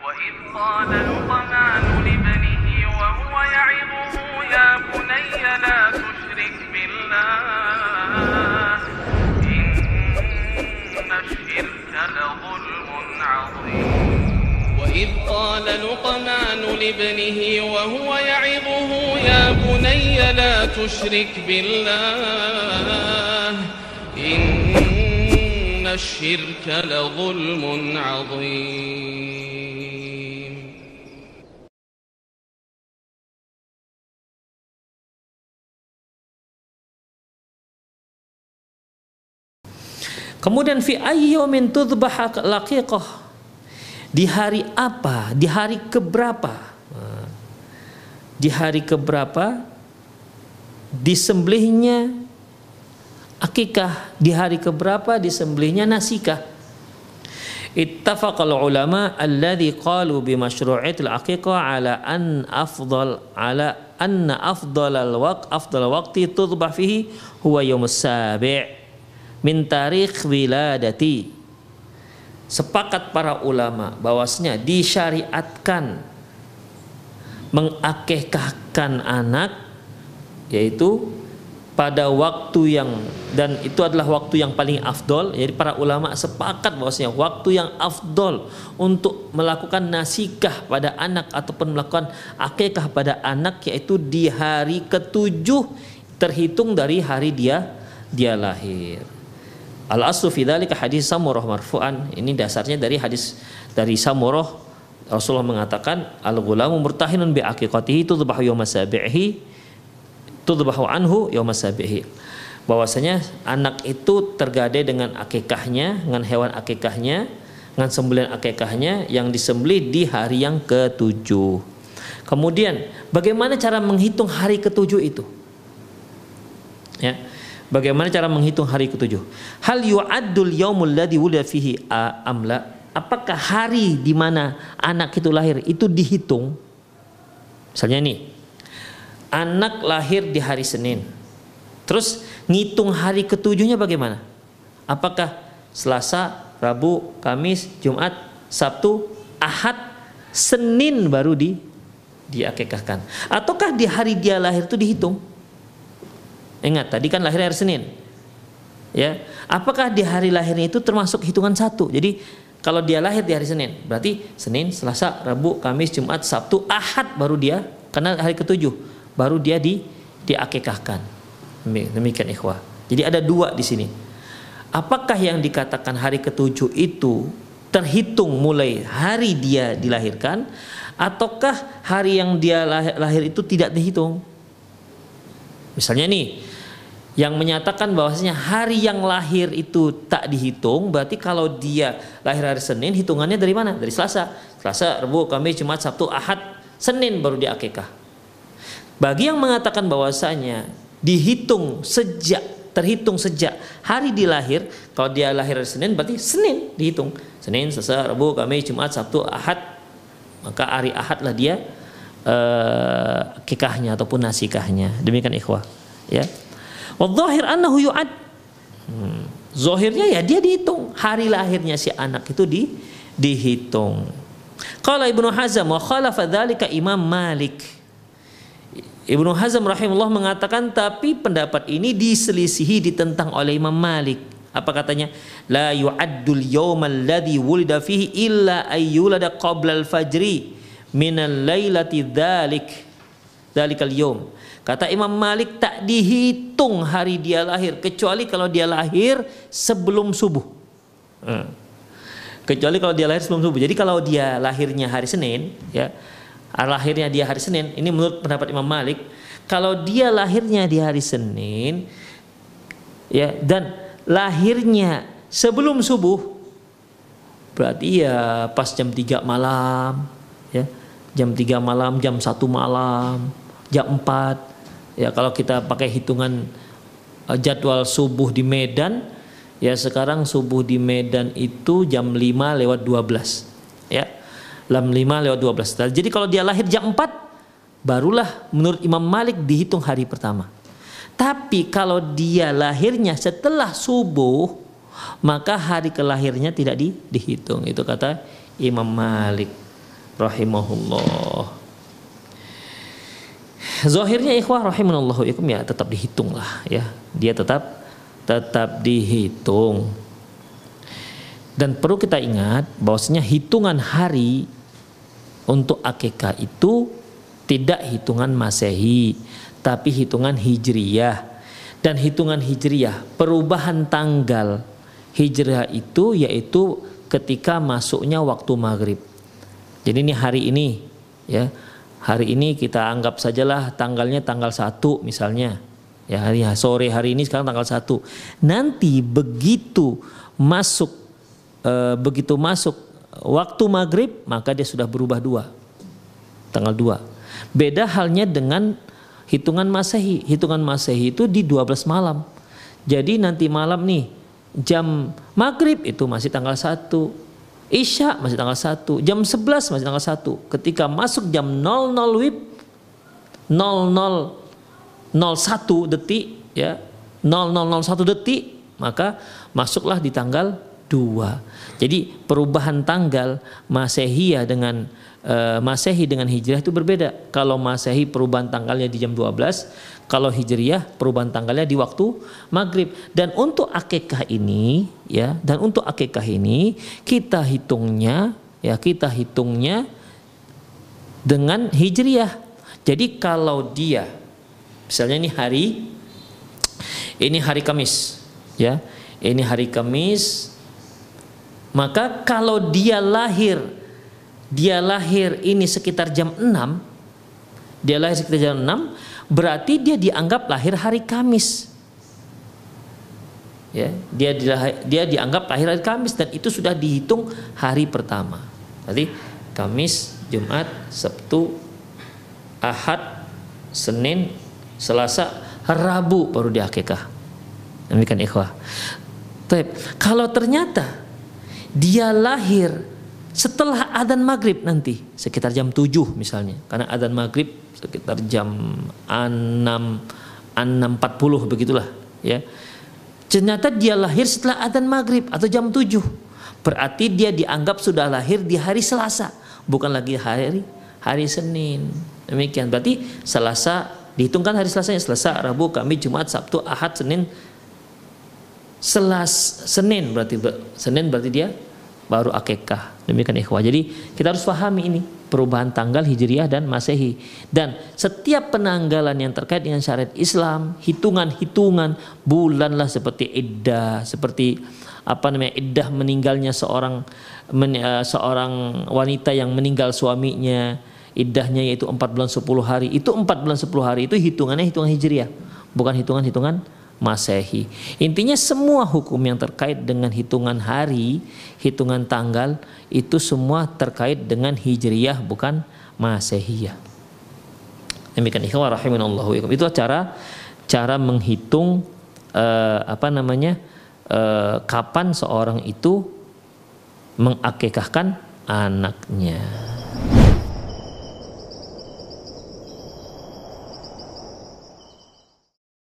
وإذ قال لقمان لابنه وهو يعظه يا بني لا تشرك بالله إن الشرك لظلم عظيم وإذ قال لقمان لابنه وهو يعظه يا بني لا تشرك بالله إن الشرك لظلم عظيم. Kemudian fi ayyumin tudbah laqiqah, di hari apa, di hari keberapa, di hari keberapa disembelihnya akikah, di hari keberapa disembelihnya nasikah. Ittafaqal ulama alladhi qalu bi masyru'iyatil aqiqah ala anna afdal waqti tudbah fihi huwa yaumus sabi' min tarikh wiladati. Sepakat para ulama bahwasanya disyariatkan mengakikahkan anak yaitu pada waktu yang, dan itu adalah waktu yang paling afdol. Jadi para ulama sepakat bahwasanya waktu yang afdol untuk melakukan nasikah pada anak ataupun melakukan akikah pada anak yaitu di hari ketujuh terhitung dari hari dia lahir. Al-aslu fi dzalika hadis Samurah marfu'an. Ini dasarnya dari hadis dari Samurah. Rasulullah mengatakan al-ghulamu murtahinun bi aqiqatihi tudbahu yawma sabihi tudbahu anhu yawma sabihi. Bahwasanya anak itu tergadai dengan akikahnya, dengan hewan akikahnya, dengan sembelihan akikahnya yang disembelih di hari yang ketujuh. Kemudian bagaimana cara menghitung hari ketujuh itu? Ya. Bagaimana cara menghitung hari ketujuh? Hal yu'addul yaumul ladzi wulida fihi amla? Apakah hari di mana anak itu lahir itu dihitung? Misalnya nih, anak lahir di hari Senin. Terus ngitung hari ketujuhnya bagaimana? Apakah Selasa, Rabu, Kamis, Jumat, Sabtu, Ahad, Senin baru diakikahkan? Ataukah di hari dia lahir itu dihitung? Ingat tadi kan lahir hari Senin, ya. Apakah di hari lahirnya itu termasuk hitungan satu? Jadi kalau dia lahir di hari Senin, berarti Senin, Selasa, Rabu, Kamis, Jumat, Sabtu, Ahad baru dia, karena hari ketujuh baru dia diakikahkan. Demikian ikhwah. Jadi ada dua di sini. Apakah yang dikatakan hari ketujuh itu terhitung mulai hari dia dilahirkan, ataukah hari yang dia lahir itu tidak dihitung? Misalnya nih, yang menyatakan bahwasanya hari yang lahir itu tak dihitung, berarti kalau dia lahir hari Senin hitungannya dari mana? Dari Selasa, Rabu, Kamis, Jumat, Sabtu, Ahad, Senin baru diakikah. Bagi yang mengatakan bahwasanya terhitung sejak hari dilahir, kalau dia lahir hari Senin berarti Senin dihitung. Senin, Selasa, Rabu, Kamis, Jumat, Sabtu, Ahad, maka hari Ahad lah dia akikahnya ataupun nasikahnya. Demikian ikhwah, ya. Wadh-dhahir annahu yu'ad. Zahirnya ya dia dihitung, hari lahirnya si anak itu dihitung. Qala Ibnu Hazm wa khalafa dzalika Imam Malik. Ibnu Hazm rahimahullah mengatakan tapi pendapat ini diselisihi, ditentang oleh Imam Malik. Apa katanya? La yu'addul yawmal ladzi wulida fihi illa ayyulada qabla al-fajri minal lailati dzalikal yawm. Kata Imam Malik tak dihitung hari dia lahir kecuali kalau dia lahir sebelum subuh. Kecuali kalau dia lahir sebelum subuh. Jadi kalau dia lahirnya hari Senin, ya, lahirnya dia hari Senin, ini menurut pendapat Imam Malik, kalau dia lahirnya di hari Senin, ya, dan lahirnya sebelum subuh, berarti ya pas jam 3 malam, ya, jam 3 malam, jam 1 malam, jam 4. Ya kalau kita pakai hitungan jadwal subuh di Medan, ya sekarang subuh di Medan itu jam 5:12. Ya. Jam 5:12. Jadi kalau dia lahir jam 4 barulah menurut Imam Malik dihitung hari pertama. Tapi kalau dia lahirnya setelah subuh, maka hari kelahirnya tidak dihitung. Itu kata Imam Malik. rahimahullah. Zahirnya ikhwah rahimanallahu ikum ya tetap dihitung lah ya. Dia tetap dihitung. Dan perlu kita ingat bahwasanya hitungan hari untuk akikah itu tidak hitungan Masehi, tapi hitungan Hijriyah. Dan hitungan Hijriyah, perubahan tanggal Hijriyah itu yaitu ketika masuknya waktu maghrib. Jadi ini hari ini ya. Hari ini kita anggap sajalah tanggalnya tanggal 1 misalnya. Ya, sore hari ini sekarang tanggal 1. Nanti begitu masuk waktu maghrib, maka dia sudah berubah 2. Tanggal 2. Beda halnya dengan hitungan Masehi. Hitungan Masehi itu di 12 malam. Jadi nanti malam nih jam maghrib itu masih tanggal 1. Isya masih tanggal 1, jam 11 masih tanggal 1. Ketika masuk jam 00 WIB 0001 detik ya, 0001 detik, maka masuklah di tanggal 2. Jadi perubahan tanggal Masehiyah dengan Masehi dengan Hijriah itu berbeda. Kalau Masehi perubahan tanggalnya di jam 12, kalau Hijriah perubahan tanggalnya di waktu maghrib. Dan untuk akikah ini ya, kita hitungnya dengan Hijriah. Jadi kalau dia misalnya ini hari Kamis ya. Ini hari Kamis, maka kalau dia lahir ini sekitar jam 6, berarti dia dianggap lahir hari Kamis. Ya, dia dianggap lahir hari Kamis dan itu sudah dihitung hari pertama. Jadi Kamis, Jumat, Sabtu, Ahad, Senin, Selasa, Rabu baru diakikah. Demikian ikhwah. Kalau ternyata dia lahir setelah adzan maghrib nanti sekitar jam 7 misalnya, karena adzan maghrib sekitar jam 6.40 begitulah ya. Ternyata dia lahir setelah adzan maghrib atau jam 7, berarti dia dianggap sudah lahir di hari Selasa, bukan lagi hari Senin. Demikian, berarti Selasa dihitungkan hari Selasanya, Selasa, Rabu, Kamis, Jumat, Sabtu, Ahad, Senin. Senin berarti dia baru akikah. Demikian ikhwah. Jadi kita harus pahami ini perubahan tanggal Hijriyah dan Masehi. Dan setiap penanggalan yang terkait dengan syariat Islam, hitungan-hitungan bulan lah, seperti iddah, seperti iddah meninggalnya seorang wanita yang meninggal suaminya, iddahnya yaitu 4 bulan 10 hari. Itu 4 bulan 10 hari itu hitungannya hitungan Hijriyah, bukan hitungan Masehi. Intinya semua hukum yang terkait dengan hitungan hari, hitungan tanggal itu semua terkait dengan Hijriyah, bukan Masehiyah. Demikian ikhwah rahimanallahu ikum. Itu cara menghitung kapan seorang itu mengakikahkan anaknya.